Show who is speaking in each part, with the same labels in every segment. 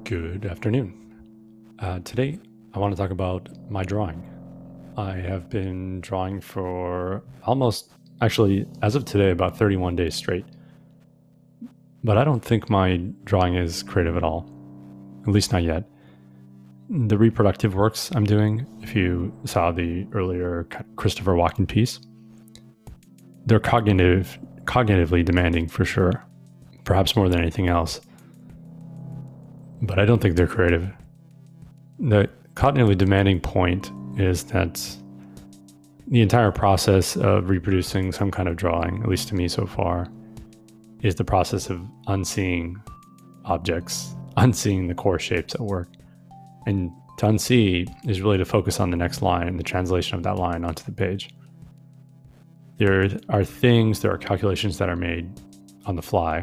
Speaker 1: Good afternoon. Today, I want to talk about my drawing. I have been drawing for actually, as of today, about 31 days straight. But I don't think my drawing is creative at all, at least not yet. The reproductive works I'm doing, if you saw the earlier Christopher Walken piece, they're cognitively demanding for sure, perhaps more than anything else. But I don't think they're creative. The cognitively demanding point is that the entire process of reproducing some kind of drawing, at least to me so far, is the process of unseeing objects, unseeing the core shapes at work. And to unsee is really to focus on the next line and the translation of that line onto the page. There are calculations that are made on the fly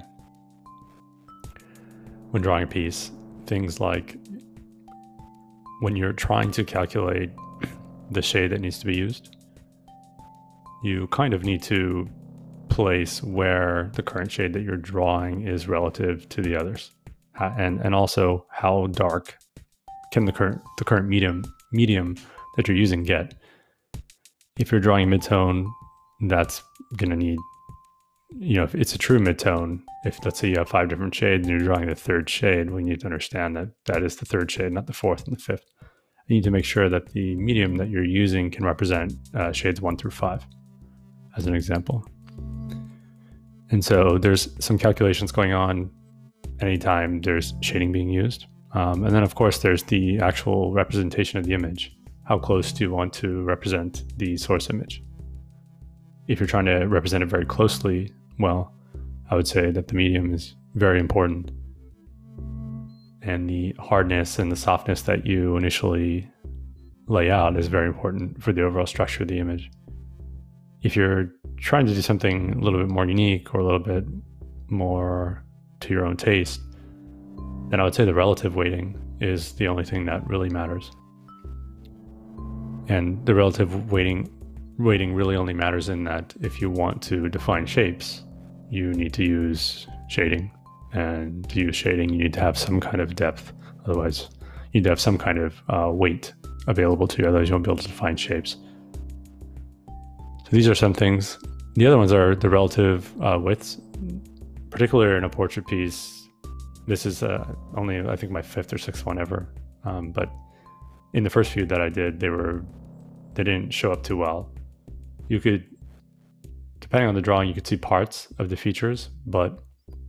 Speaker 1: when drawing a piece. Things like when you're trying to calculate the shade that needs to be used, you kind of need to place where the current shade that you're drawing is relative to the others, and also how dark can the current medium that you're using get. If you're drawing a midtone, that's going to need, if it's a true midtone, if let's say you have 5 different shades and you're drawing the third shade, we need to understand that that is the third shade, not the fourth and the fifth. You need to make sure that the medium that you're using can represent shades 1 through 5, as an example. And so there's some calculations going on anytime there's shading being used. And then, of course, there's the actual representation of the image. How close do you want to represent the source image? If you're trying to represent it very closely, well, I would say that the medium is very important. And the hardness and the softness that you initially lay out is very important for the overall structure of the image. If you're trying to do something a little bit more unique or a little bit more to your own taste, then I would say the relative weighting is the only thing that really matters. And the relative weighting really only matters in that if you want to define shapes, you need to use shading. And to use shading, you need to have some kind of depth. Otherwise, you need to have some kind of weight available to you. Otherwise, you won't be able to define shapes. So these are some things. The other ones are the relative widths. Particularly in a portrait piece, this is only, I think, my 5th or 6th one ever. But in the first few that I did, they didn't show up too well. You could, depending on the drawing, you could see parts of the features, but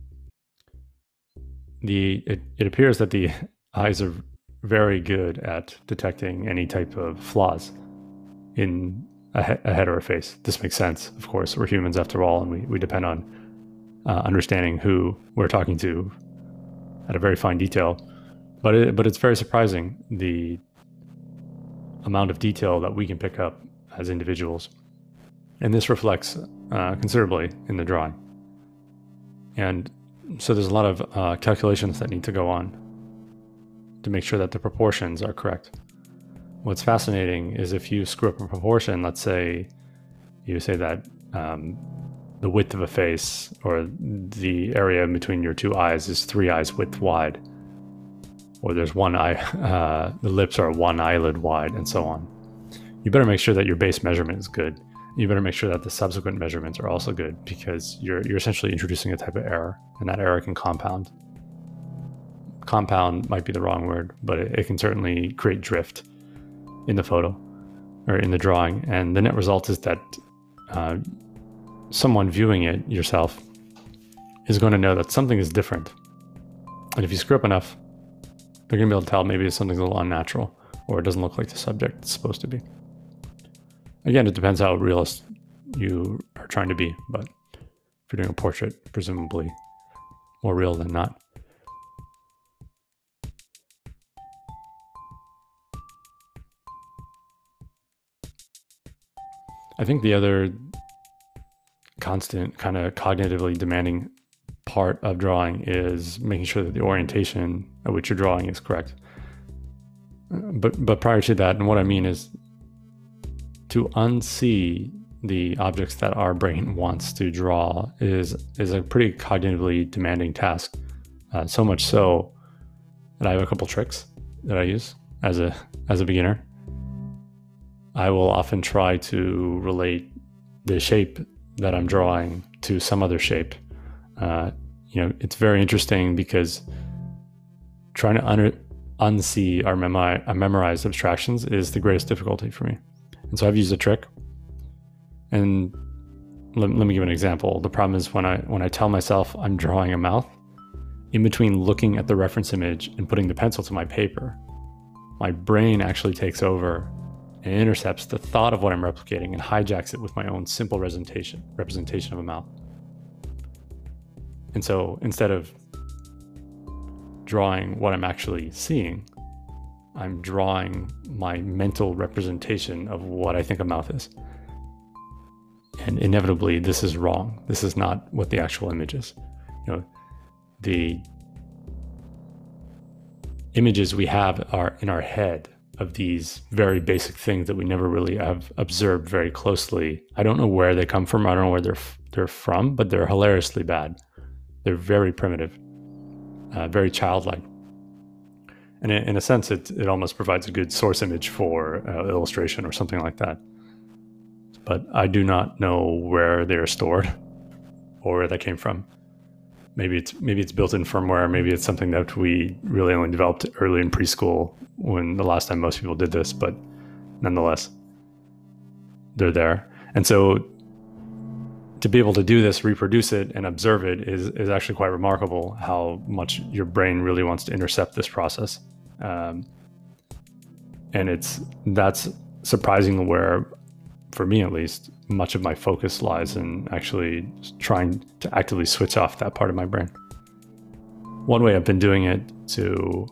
Speaker 1: it appears that the eyes are very good at detecting any type of flaws in a head or a face. This makes sense, of course. We're humans after all, and we depend on understanding who we're talking to at a very fine detail. But it's very surprising the amount of detail that we can pick up as individuals. And this reflects considerably in the drawing. And so there's a lot of calculations that need to go on to make sure that the proportions are correct. What's fascinating is if you screw up a proportion, let's say you say that the width of a face or the area in between your two eyes is 3 eyes width wide, or there's one eye, the lips are 1 eyelid wide, and so on. You better make sure that your base measurement is good. You better make sure that the subsequent measurements are also good, because you're essentially introducing a type of error, and that error can compound. Compound might be the wrong word, but it can certainly create drift in the photo or in the drawing. And the net result is that someone viewing it, yourself, is going to know that something is different. And if you screw up enough, they're going to be able to tell maybe something's a little unnatural, or it doesn't look like the subject it's supposed to be. Again, it depends how realist you are trying to be, but if you're doing a portrait, presumably more real than not. I think the other constant kind of cognitively demanding part of drawing is making sure that the orientation at which you're drawing is correct. But prior to that, and what I mean is to unsee the objects that our brain wants to draw is a pretty cognitively demanding task. So much so and I have a couple tricks that I use as a beginner. I will often try to relate the shape that I'm drawing to some other shape. It's very interesting because trying to unsee our memorized abstractions is the greatest difficulty for me. And so I've used a trick. And let me give an example. The problem is when I tell myself I'm drawing a mouth, in between looking at the reference image and putting the pencil to my paper, my brain actually takes over and intercepts the thought of what I'm replicating and hijacks it with my own simple representation of a mouth. And so instead of drawing what I'm actually seeing, I'm drawing my mental representation of what I think a mouth is. And inevitably, this is wrong. This is not what the actual image is. The images we have are in our head of these very basic things that we never really have observed very closely. I don't know where they come from. I don't know where they're from, but they're hilariously bad. They're very primitive, very childlike. And in a sense, it almost provides a good source image for illustration or something like that. But I do not know where they're stored or where that came from. Maybe it's built in firmware. Maybe it's something that we really only developed early in preschool when the last time most people did this, but nonetheless, they're there. And so to be able to do this, reproduce it, and observe it is actually quite remarkable how much your brain really wants to intercept this process. And that's surprisingly where, for me at least, much of my focus lies in actually trying to actively switch off that part of my brain. One way I've been doing it to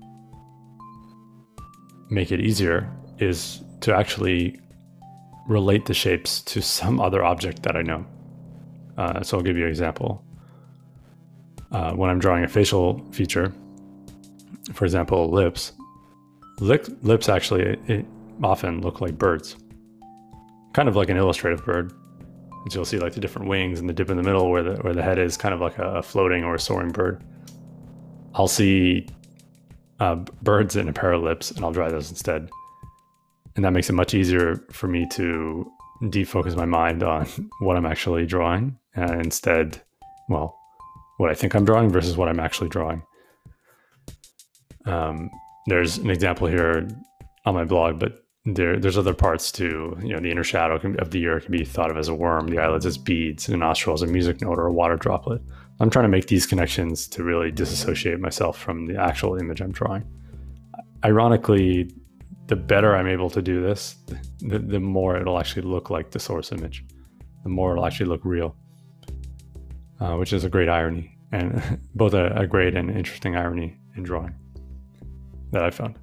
Speaker 1: make it easier is to actually relate the shapes to some other object that I know. So I'll give you an example. When I'm drawing a facial feature, for example, lips Lips actually often look like birds, kind of like an illustrative bird. And so you'll see like the different wings and the dip in the middle where the head is kind of like a floating or a soaring bird. I'll see birds in a pair of lips and I'll draw those instead. And that makes it much easier for me to defocus my mind on what I'm actually drawing and instead, well, what I think I'm drawing versus what I'm actually drawing. There's an example here on my blog, but there's other parts too. You know, the inner shadow of the ear can be thought of as a worm, the eyelids as beads, the nostril as a music note or a water droplet. I'm trying to make these connections to really disassociate myself from the actual image I'm drawing. Ironically, the better I'm able to do this, the more it'll actually look like the source image, the more it'll actually look real, which is a great irony, and both a great and interesting irony in drawing that I found.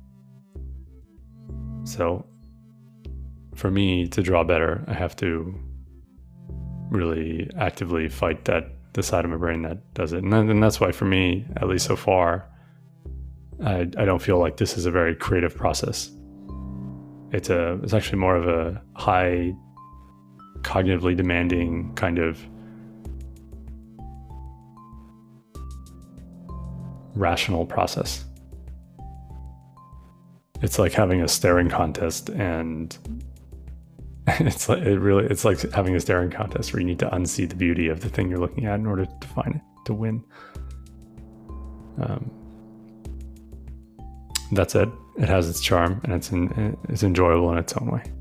Speaker 1: So for me to draw better, I have to really actively fight the side of my brain that does it. And that's why for me, at least so far, I don't feel like this is a very creative process. It's actually more of a high cognitively demanding kind of rational process. It's like having a staring contest, and it's like having a staring contest where you need to unsee the beauty of the thing you're looking at in order to find it, to win. That's it. It has its charm, and it's enjoyable in its own way.